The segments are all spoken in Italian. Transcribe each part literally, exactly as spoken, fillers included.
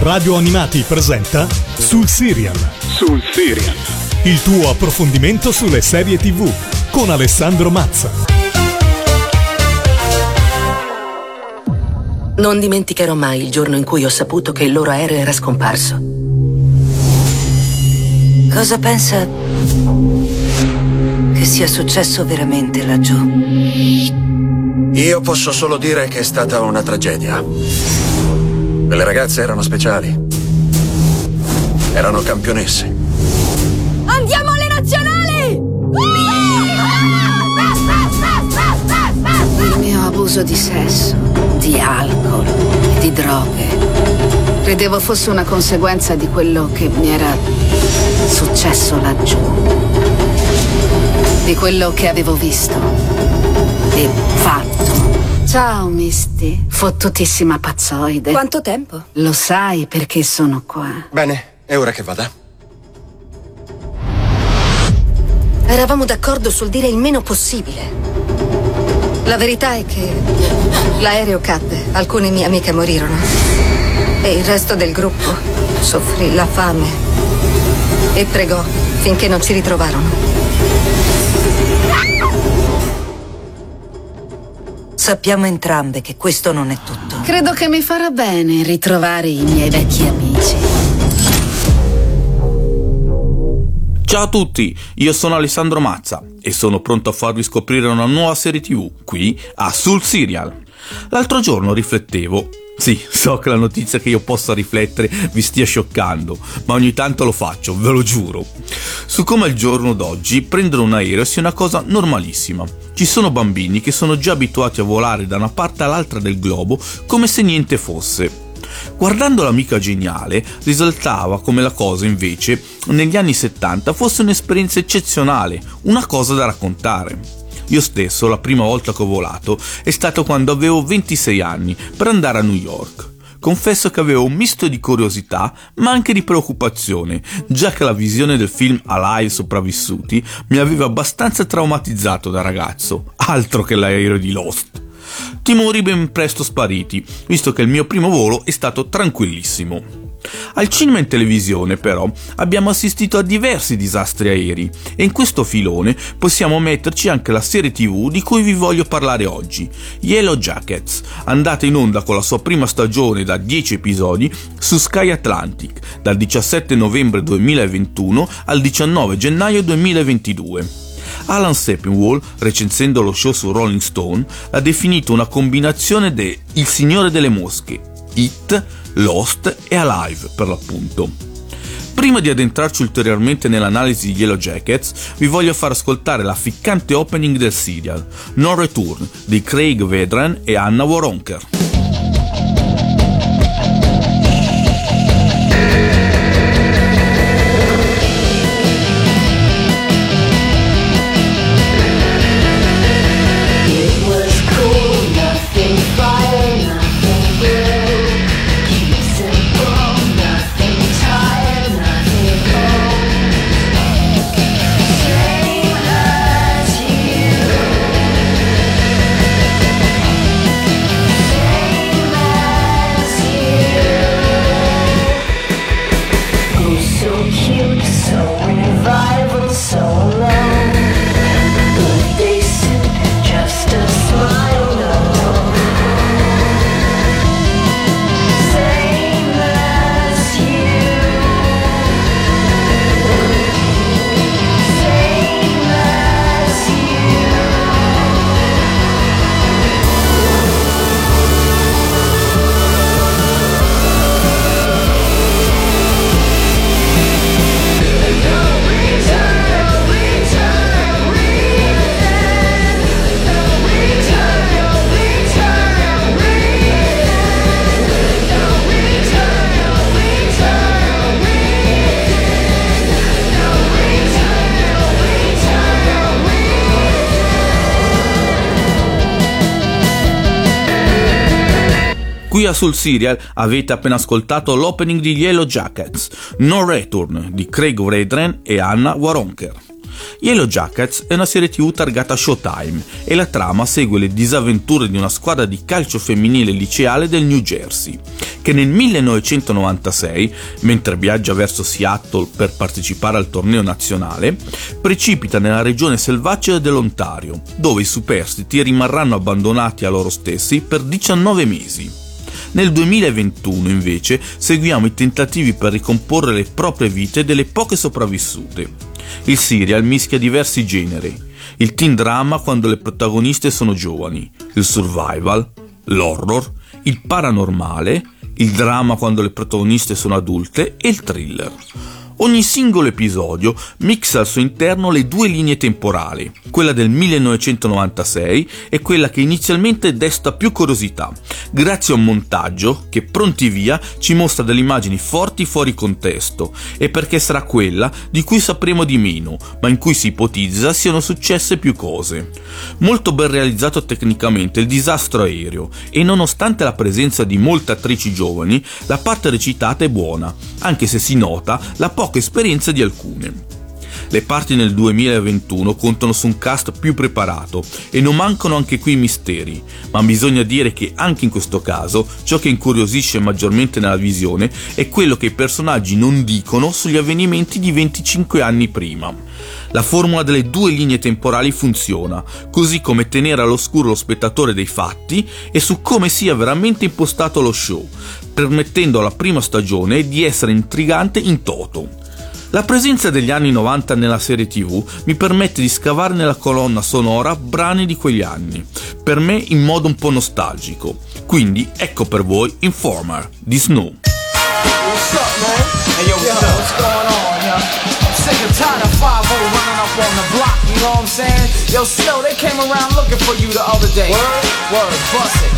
Radio Animati presenta Sul Serial. Sul Serial. Il tuo approfondimento sulle serie tivù con Alessandro Mazza. Non dimenticherò mai il giorno in cui ho saputo che il loro aereo era scomparso. Cosa pensa che sia successo veramente laggiù? Io posso solo dire che è stata una tragedia. Quelle ragazze erano speciali. Erano campionesse. Andiamo alle nazionali! Il mio abuso di sesso, di alcol e di droghe credevo fosse una conseguenza di quello che mi era successo laggiù, di quello che avevo visto e fatto. Ciao Misty, fottutissima pazzoide. Quanto tempo? Lo sai perché sono qua. Bene, è ora che vada. Eravamo d'accordo sul dire il meno possibile. La verità è che l'aereo cadde, alcune mie amiche morirono e il resto del gruppo soffrì la fame e pregò finché non ci ritrovarono. Sappiamo entrambe che questo non è tutto. Credo che mi farà bene ritrovare i miei vecchi amici. Ciao a tutti, io sono Alessandro Mazza e sono pronto a farvi scoprire una nuova serie tivù qui a Sul Serial. L'altro giorno riflettevo. Sì, so che la notizia che io possa riflettere vi stia scioccando, ma ogni tanto lo faccio, ve lo giuro. Su come al giorno d'oggi prendere un aereo sia una cosa normalissima. Ci sono bambini che sono già abituati a volare da una parte all'altra del globo come se niente fosse. Guardando l'amica geniale, risultava come la cosa invece negli anni settanta fosse un'esperienza eccezionale, una cosa da raccontare. Io stesso la prima volta che ho volato è stato quando avevo ventisei anni per andare a New York. Confesso che avevo un misto di curiosità ma anche di preoccupazione, già che la visione del film Alive Sopravvissuti mi aveva abbastanza traumatizzato da ragazzo, altro che l'aereo di Lost. Timori ben presto spariti, visto che il mio primo volo è stato tranquillissimo. Al cinema e in televisione, però, abbiamo assistito a diversi disastri aerei e in questo filone possiamo metterci anche la serie tivù di cui vi voglio parlare oggi, Yellow Jackets, andata in onda con la sua prima stagione da dieci episodi su Sky Atlantic dal diciassette novembre duemilaventuno al diciannove gennaio duemilaventidue. Alan Sepinwall, recensendo lo show su Rolling Stone, l'ha definito una combinazione de Il Signore delle Mosche, It, Lost e Alive per l'appunto. Prima di addentrarci ulteriormente nell'analisi di Yellow Jackets, vi voglio far ascoltare la ficcante opening del serial, No Return, di Craig Vedran e Anna Waronker. Qui a Sul Serial avete appena ascoltato l'opening di Yellow Jackets, No Return, di Craig Vedran e Anna Waronker. Yellow Jackets è una serie tivù targata Showtime e la trama segue le disavventure di una squadra di calcio femminile liceale del New Jersey, che nel millenovecentonovantasei, mentre viaggia verso Seattle per partecipare al torneo nazionale, precipita nella regione selvaggia dell'Ontario, dove i superstiti rimarranno abbandonati a loro stessi per diciannove mesi. Nel duemilaventuno, invece, seguiamo i tentativi per ricomporre le proprie vite delle poche sopravvissute. Il serial mischia diversi generi: il teen drama quando le protagoniste sono giovani, il survival, l'horror, il paranormale, il dramma quando le protagoniste sono adulte e il thriller. Ogni singolo episodio mixa al suo interno le due linee temporali, quella del millenovecentonovantasei e quella che inizialmente desta più curiosità, grazie a un montaggio che pronti via ci mostra delle immagini forti fuori contesto, e perché sarà quella di cui sapremo di meno, ma in cui si ipotizza siano successe più cose. Molto ben realizzato tecnicamente il disastro aereo, e nonostante la presenza di molte attrici giovani, la parte recitata è buona, anche se si nota la poca esperienza di alcune. Le parti nel duemilaventuno contano su un cast più preparato e non mancano anche qui misteri, ma bisogna dire che anche in questo caso ciò che incuriosisce maggiormente nella visione è quello che i personaggi non dicono sugli avvenimenti di venticinque anni prima. La formula delle due linee temporali funziona, così come tenere all'oscuro lo spettatore dei fatti e su come sia veramente impostato lo show, permettendo alla prima stagione di essere intrigante in toto. La presenza degli anni novanta nella serie tivù mi permette di scavare nella colonna sonora brani di quegli anni, per me in modo un po' nostalgico. Quindi ecco per voi Informer di Snow. What's up, man? Hey, yo, what's up? What's going on, yo? I'm sick and tired of five oh running up on the block, you know what I'm saying? Yo, Snow, they came around looking for you the other day. Word? Word, bust it.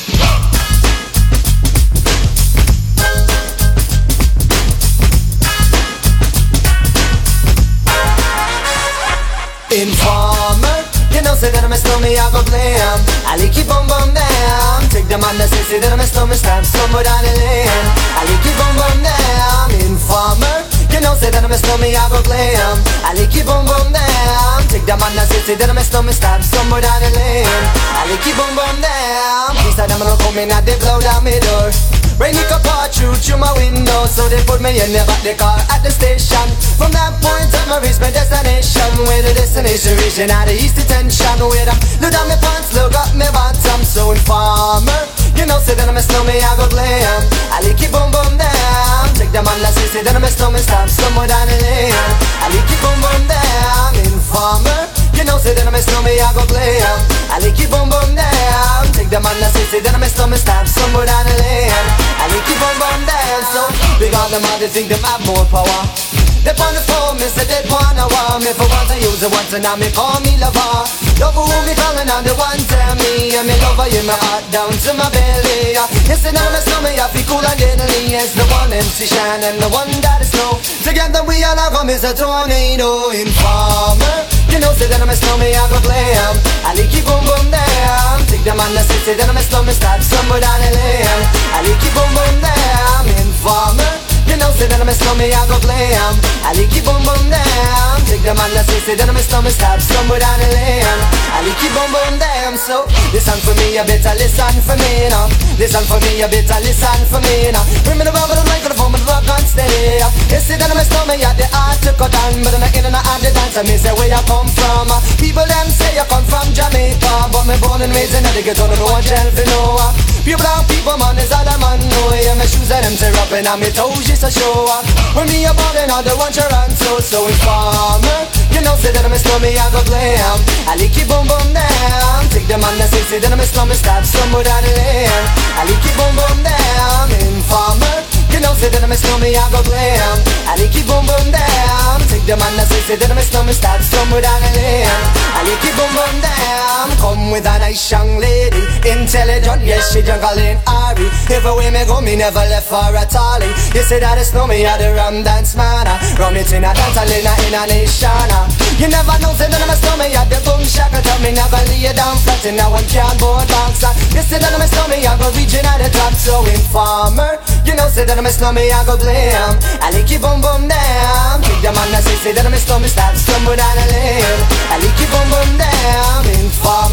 Informer, you know say that I'm a snowman, I go blam. I like you boom boom down. Take the man that say, say that I'm a snowman, stamp somewhere down the lane. I like you boom boom down. Informer, you know say that I'm a snowman, I go blam. I like you boom boom down. Take the man that say, say that I'm a snowman, stamp somewhere down the lane. I like you boom boom down. He said I'm gonna come in and they blow down my door. Rain it could pour through through my window, so they put me in the back the car at the station. From that point on I reached my destination, where the destination region out of east detention. Where I look down my pants, look up my bottom. So Informer, you know say that I'm a snowman, I go blam. I like it boom boom down. Take the man that say, say that I'm a snowman, stop somewhere down the lane. I like it boom boom down. Informer, you know say that I'm a snowman, I go blam. I like it boom boom down. Take the man that say, say that I'm a snowman, stop somewhere down the lane. I like it boom boom down. So big on them all, they think them have more power. They on the phone, me say they wanna want me. For once I use it once and now me call me lover. Love who me calling on the one tell me. And me lover in my heart down to my belly. Yes, and I'm a snowman, I feel cool and deadly. It's the one M C Shine and the one that is snow. Together we all have come is a tornado. Informer, you know say that I'm a snowman, I go blam. I like it boom boom down. Take the man that say, say that I'm a snowman, start somewhere down the lane. I like it boom boom down. Informer, you know say that I'm a snowman, I go blam. I like it boom boom down. Take the man that say, say that I'm a snowman, start somewhere down the lane. I like it boom boom down. So listen for me, you better listen for me now. Listen for me, you better listen for me now. Bring me the rubber, the microphone, the rock and steady. You say that I'm a snowman, you the art to cut down, but I'm not in and out the dance. I mean say where you come from. People them say you come from Jamaica, but me born and raised in the ghetto, no one tell for no. Pure brown people, man, is all a man know. Yeah, my shoes and them tear up and my toes just a show. When me a ballin', all the one to run so, so Informer, you know say that I'm a snowman, I go blam. I like it boom boom down. Take the man that say, say that I'm a snowman, start somewhere down the lane. I like it boom boom down. Informer, you know say that I'm a snowman, I go blam. I like it boom boom down. Take the man that say, say that I'm a snowman, start somewhere down the lane. I like it boom boom down. Come with a nice young lady, intelligent, yes she jungle in Ari. Everywhere me go, me never left for a tally. You say that it's no me, I the rum dance man. Rum it in a dance, I in a, in a nation. You never know, say that I'm a snowman, I the boom shaka. Tell me never lay you down flat in a one cardboard box. You say that I'm a snowman, I go reaching at the top. So Informer, you know say that I'm a snowman, I go blam. I like it boom boom down. Take the man that say, say that I'm a snowman, start somewhere down the lane. I like it boom boom down. Informer,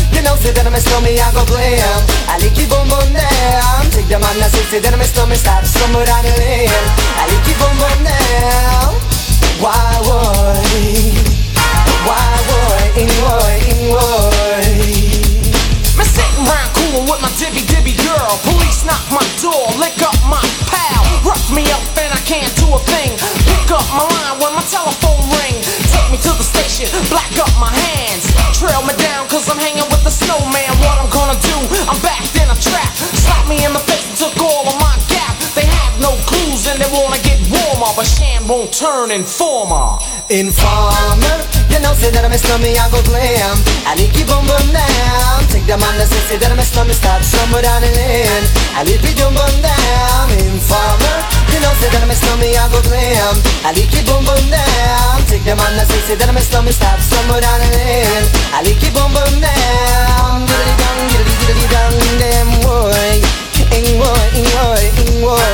You know, say that I'm a stormy, I go blam. I like you boom boom down. Take the man that say that I'm a stormy, stop somewhere down the lane. I like you boom boom down. Why would, why would, in would, in would. I'm sitting round coolin' with my dibby dibby girl. Police knock my door, lick up my pal. Rough me up and I can't do a thing. Pick up my line when my telephone ring. Take me to the station, black up my hands. Trail me down cause I'm hanging with the snowman. What I'm gonna do, I'm backed in a trap. Slap me in the face and took all of my gap. They have no clues and they wanna get warmer, but Shan won't turn informer. Informer, you know, say that I'm a stormy, I go glam. I like you boom boom down. Take the man that say, say that I'm a stormy, stop somewhere down the lane. I like you boom boom down. Informer, you know, say that I'm a stormy, I go glam. I like you boom boom down. Take the man that say, say that I'm a stormy, stop somewhere down the lane. I like you boom boom down. Diddly dong, diddly diddly dong, damn boy. In boy, in boy, in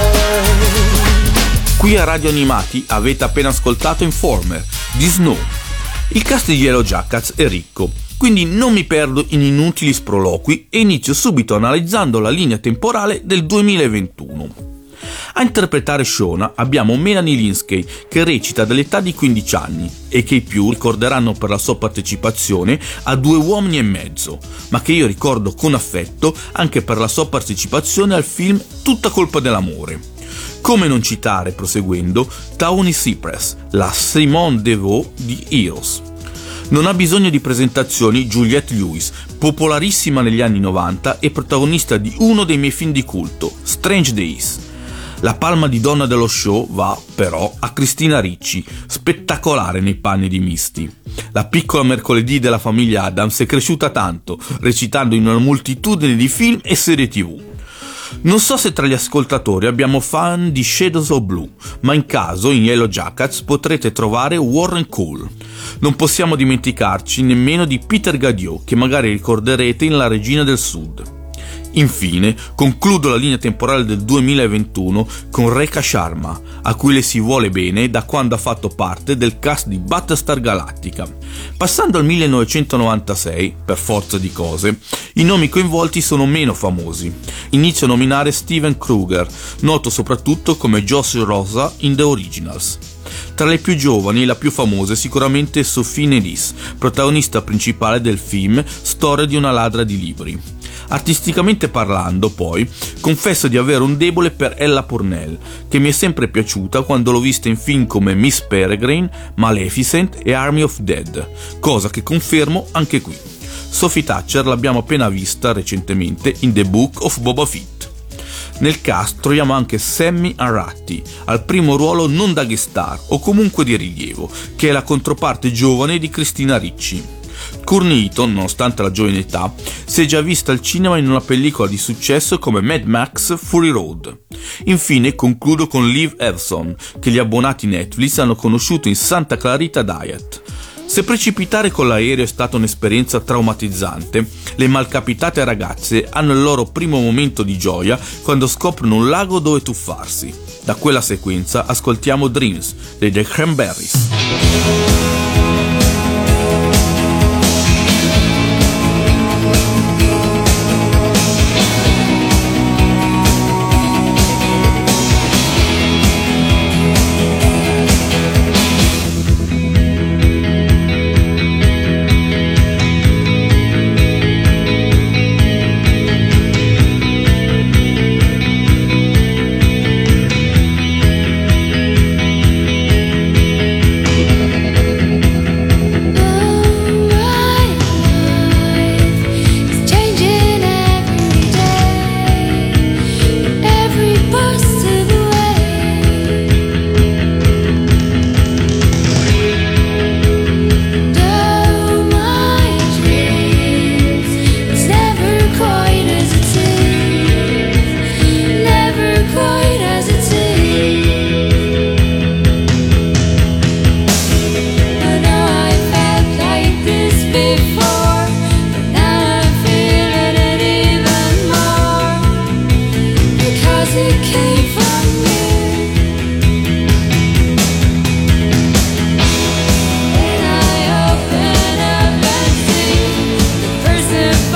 boy. Qui a Radio Animati avete appena ascoltato Informer di Snow. Il cast di Yellowjackets è ricco, quindi non mi perdo in inutili sproloqui e inizio subito analizzando la linea temporale del duemilaventuno. A interpretare Shona abbiamo Melanie Lynskey, che recita dall'età di quindici anni e che i più ricorderanno per la sua partecipazione a Due uomini e mezzo, ma che io ricordo con affetto anche per la sua partecipazione al film Tutta colpa dell'amore. Come non citare, proseguendo, Tawny Cypress, la Simone Devaux di Heroes. Non ha bisogno di presentazioni Juliette Lewis, popolarissima negli anni novanta e protagonista di uno dei miei film di culto, Strange Days. La palma di donna dello show va, però, a Christina Ricci, spettacolare nei panni di Misty. La piccola mercoledì della famiglia Addams è cresciuta tanto, recitando in una moltitudine di film e serie tivù. Non so se tra gli ascoltatori abbiamo fan di Shadows of Blue, ma in caso in Yellowjackets potrete trovare Warren Cole. Non possiamo dimenticarci nemmeno di Peter Gadiot, che magari ricorderete in La Regina del Sud. Infine, concludo la linea temporale del duemilaventuno con Rekha Sharma, a cui le si vuole bene da quando ha fatto parte del cast di Battlestar Galactica. Passando al millenovecentonovantasei, per forza di cose, i nomi coinvolti sono meno famosi. Inizio a nominare Steven Kruger, noto soprattutto come Josh Rosa in The Originals. Tra le più giovani, la più famosa è sicuramente Sophie Nélis, protagonista principale del film Storia di una ladra di libri. Artisticamente parlando, poi, confesso di avere un debole per Ella Purnell, che mi è sempre piaciuta quando l'ho vista in film come Miss Peregrine, Maleficent e Army of Dead, cosa che confermo anche qui. Sophie Thatcher l'abbiamo appena vista recentemente in The Book of Boba Fett. Nel cast troviamo anche Sammy Arati, al primo ruolo non da guest star o comunque di rilievo, che è la controparte giovane di Christina Ricci. Courtney Heaton, nonostante la giovane età, si è già vista al cinema in una pellicola di successo come Mad Max Fury Road. Infine concludo con Liv Evson, che gli abbonati Netflix hanno conosciuto in Santa Clarita Diet. Se precipitare con l'aereo è stata un'esperienza traumatizzante, le malcapitate ragazze hanno il loro primo momento di gioia quando scoprono un lago dove tuffarsi. Da quella sequenza ascoltiamo Dreams dei The Cranberries. Person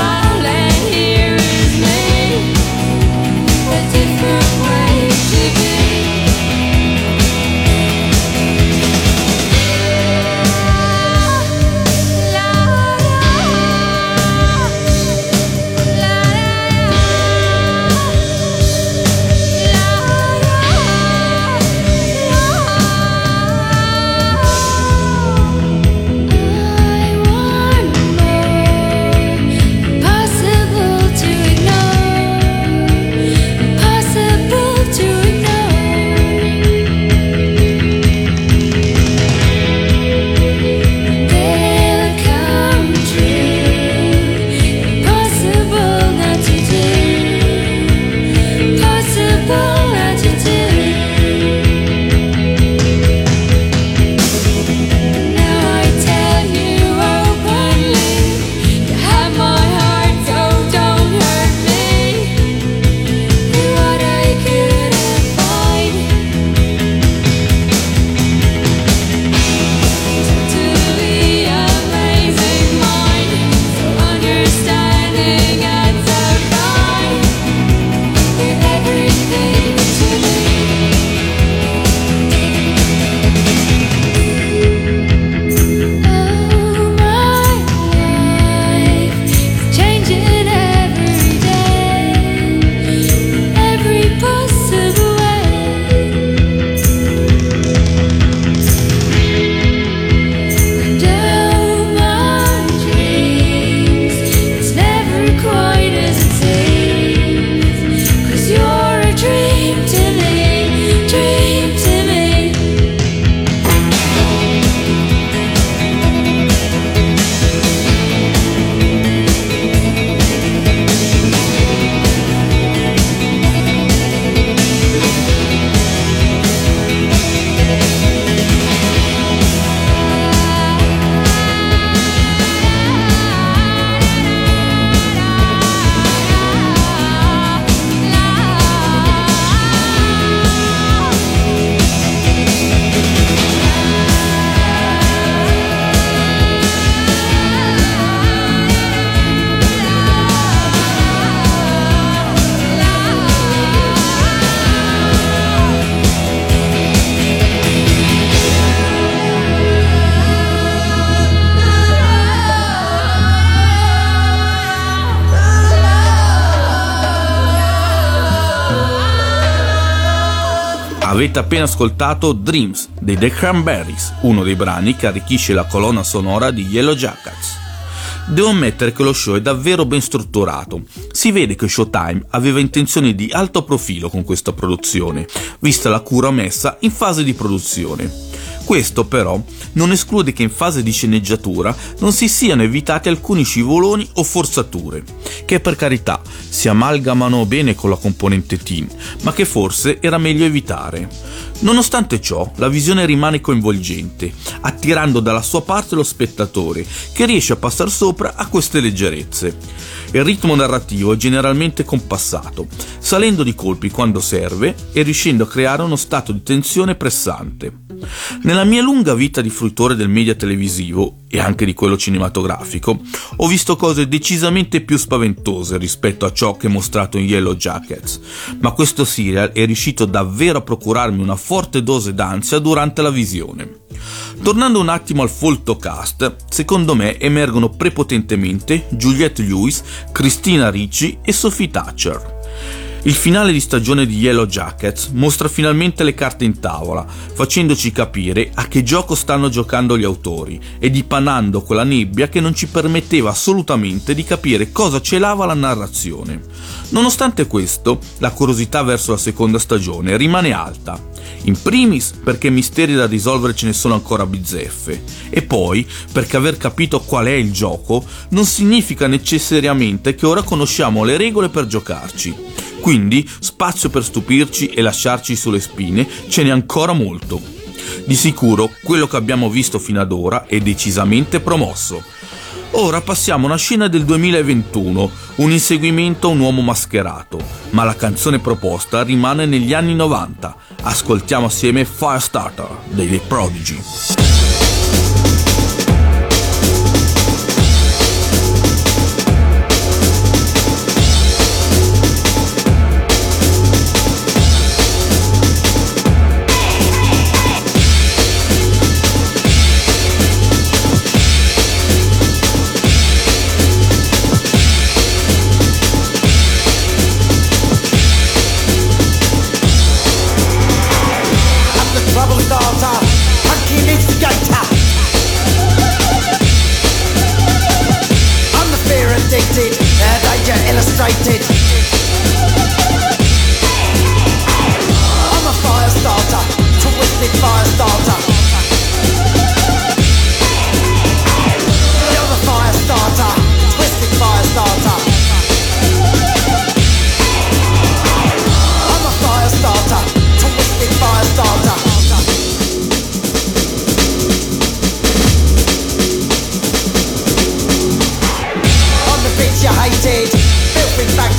Avete appena ascoltato Dreams dei The Cranberries, uno dei brani che arricchisce la colonna sonora di Yellowjackets. Devo ammettere che lo show è davvero ben strutturato. Si vede che Showtime aveva intenzioni di alto profilo con questa produzione, vista la cura messa in fase di produzione. Questo però non esclude che in fase di sceneggiatura non si siano evitati alcuni scivoloni o forzature, che per carità si amalgamano bene con la componente teen, ma che forse era meglio evitare. Nonostante ciò, la visione rimane coinvolgente, attirando dalla sua parte lo spettatore, che riesce a passare sopra a queste leggerezze. Il ritmo narrativo è generalmente compassato, salendo di colpi quando serve e riuscendo a creare uno stato di tensione pressante. Nella mia lunga vita di fruitore del media televisivo e anche di quello cinematografico, ho visto cose decisamente più spaventose rispetto a ciò che è mostrato in Yellowjackets, ma questo serial è riuscito davvero a procurarmi una forte dose d'ansia durante la visione. Tornando un attimo al folto cast, secondo me emergono prepotentemente Juliette Lewis, Christina Ricci e Sophie Thatcher. Il finale di stagione di Yellowjackets mostra finalmente le carte in tavola, facendoci capire a che gioco stanno giocando gli autori e dipanando quella nebbia che non ci permetteva assolutamente di capire cosa celava la narrazione. Nonostante questo, la curiosità verso la seconda stagione rimane alta. In primis perché misteri da risolvere ce ne sono ancora bizzeffe, e poi perché aver capito qual è il gioco non significa necessariamente che ora conosciamo le regole per giocarci. Quindi spazio per stupirci e lasciarci sulle spine ce n'è ancora molto. Di sicuro quello che abbiamo visto fino ad ora è decisamente promosso. Ora passiamo a una scena del duemilaventuno, un inseguimento a un uomo mascherato, ma la canzone proposta rimane negli anni novanta. Ascoltiamo assieme Firestarter dei The Prodigy. Illustrated. I'm a fire starter, twisted fire starter. You're the fire starter, twisted fire starter. I'm a fire starter, twisted fire starter. I'm the bitch you hated. Back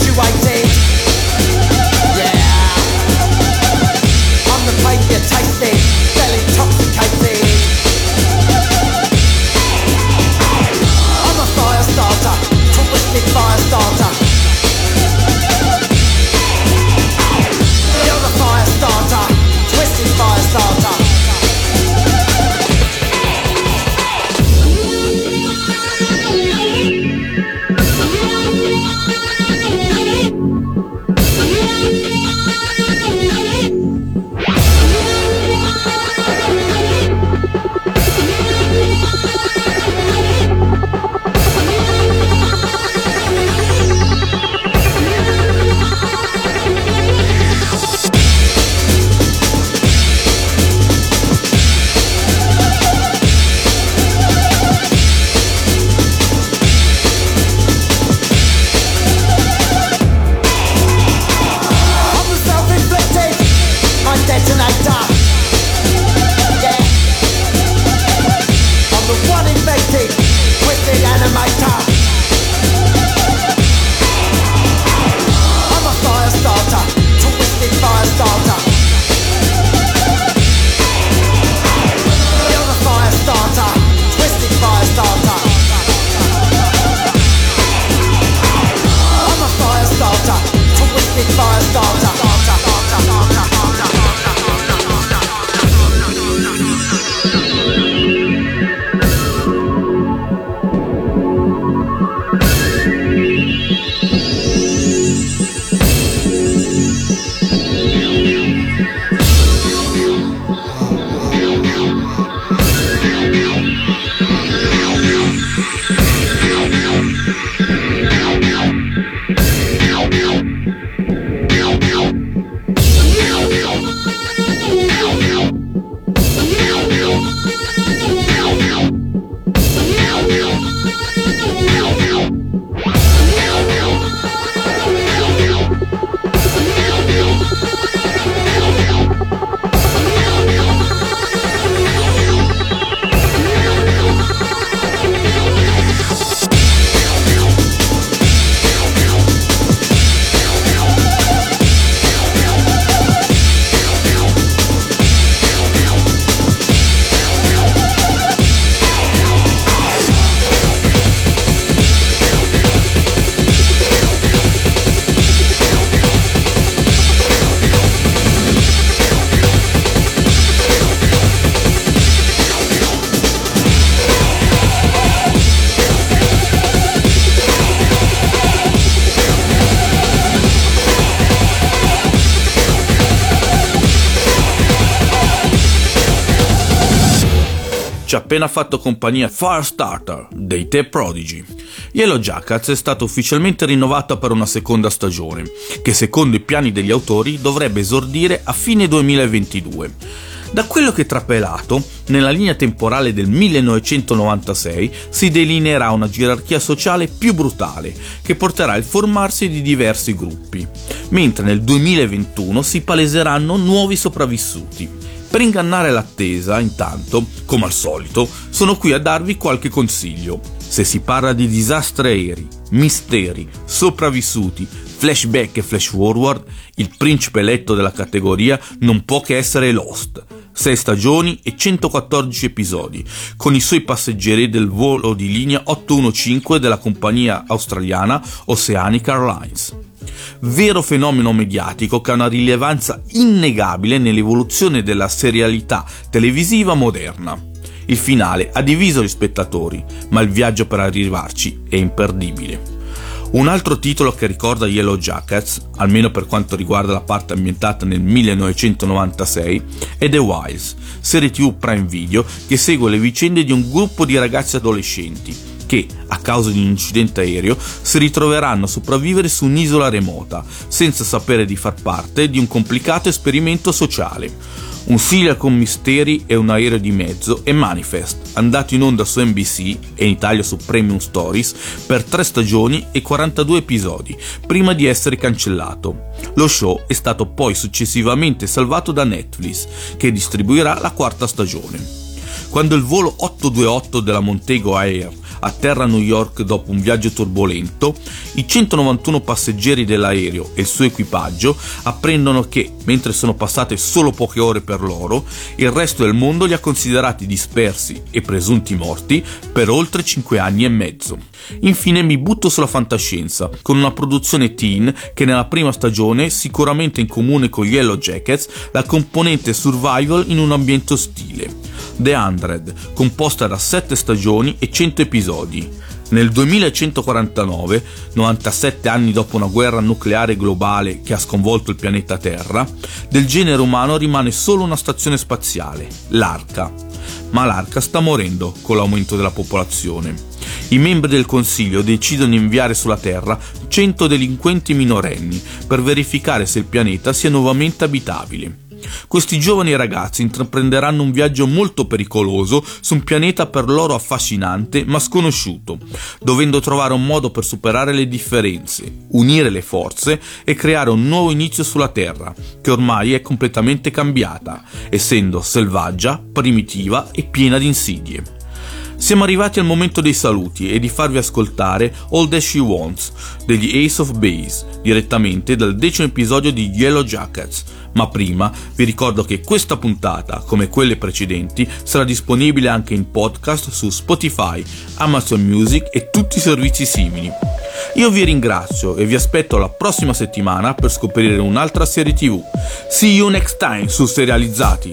ci ha appena fatto compagnia Firestarter dei The Prodigy. Yellowjackets è stata ufficialmente rinnovata per una seconda stagione, che secondo i piani degli autori dovrebbe esordire a fine duemilaventidue. Da quello che è trapelato, nella linea temporale del millenovecentonovantasei si delineerà una gerarchia sociale più brutale, che porterà al formarsi di diversi gruppi, mentre nel duemilaventuno si paleseranno nuovi sopravvissuti. Per ingannare l'attesa, intanto, come al solito, sono qui a darvi qualche consiglio. Se si parla di disastri aerei, misteri, sopravvissuti, flashback e flash forward, il principe eletto della categoria non può che essere Lost. sei stagioni e centoquattordici episodi, con i suoi passeggeri del volo di linea ottocentoquindici della compagnia australiana Oceanic Airlines. Vero fenomeno mediatico che ha una rilevanza innegabile nell'evoluzione della serialità televisiva moderna. Il finale ha diviso gli spettatori, ma il viaggio per arrivarci è imperdibile. Un altro titolo che ricorda Yellowjackets, almeno per quanto riguarda la parte ambientata nel millenovecentonovantasei, è The Wilds, serie tivù Prime Video che segue le vicende di un gruppo di ragazzi adolescenti che, a causa di un incidente aereo, si ritroveranno a sopravvivere su un'isola remota, senza sapere di far parte di un complicato esperimento sociale. Un serial con misteri e un aereo di mezzo è Manifest, andato in onda su N B C e in Italia su Premium Stories per tre stagioni e quarantadue episodi, prima di essere cancellato. Lo show è stato poi successivamente salvato da Netflix, che distribuirà la quarta stagione. Quando il volo ottocentoventotto della Montego Air atterra a New York dopo un viaggio turbolento, i centonovantuno passeggeri dell'aereo e il suo equipaggio apprendono che, mentre sono passate solo poche ore per loro, il resto del mondo li ha considerati dispersi e presunti morti per oltre cinque anni e mezzo. Infine mi butto sulla fantascienza, con una produzione teen che nella prima stagione, sicuramente in comune con Yellowjackets, la componente survival in un ambiente ostile. The Hundred, composta da sette stagioni e cento episodi. Nel duemilacentoquarantanove, novantasette anni dopo una guerra nucleare globale che ha sconvolto il pianeta Terra, del genere umano rimane solo una stazione spaziale, l'Arca. Ma l'Arca sta morendo con l'aumento della popolazione. I membri del Consiglio decidono di inviare sulla Terra cento delinquenti minorenni per verificare se il pianeta sia nuovamente abitabile. Questi giovani ragazzi intraprenderanno un viaggio molto pericoloso su un pianeta per loro affascinante ma sconosciuto, dovendo trovare un modo per superare le differenze, unire le forze e creare un nuovo inizio sulla Terra, che ormai è completamente cambiata, essendo selvaggia, primitiva e piena di insidie. Siamo arrivati al momento dei saluti e di farvi ascoltare All That She Wants degli Ace of Base, direttamente dal decimo episodio di Yellowjackets. Ma prima vi ricordo che questa puntata, come quelle precedenti, sarà disponibile anche in podcast su Spotify, Amazon Music e tutti i servizi simili. Io vi ringrazio e vi aspetto la prossima settimana per scoprire un'altra serie tivù. See you next time su Serializzati!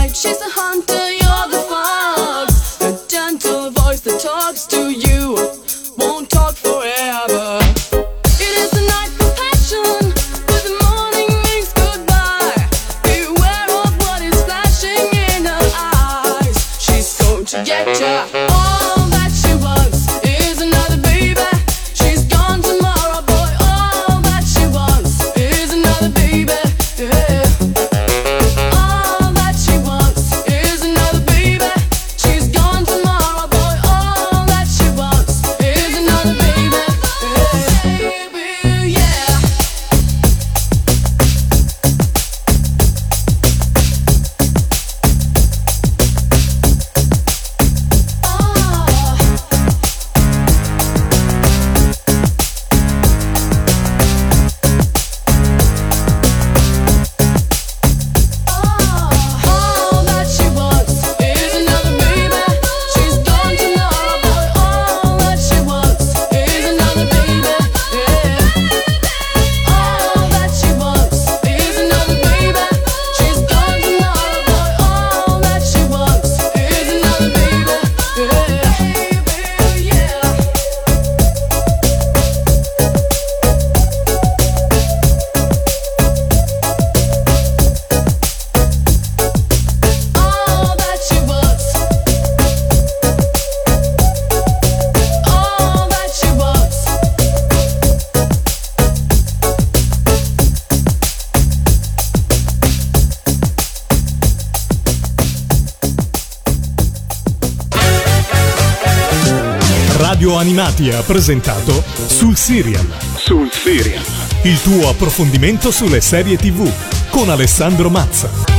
She's a hunter, you're the fox. A gentle voice that talks to you. Radio Animati ha presentato Sul Serial. Sul Serial. Il tuo approfondimento sulle serie tivù con Alessandro Mazza.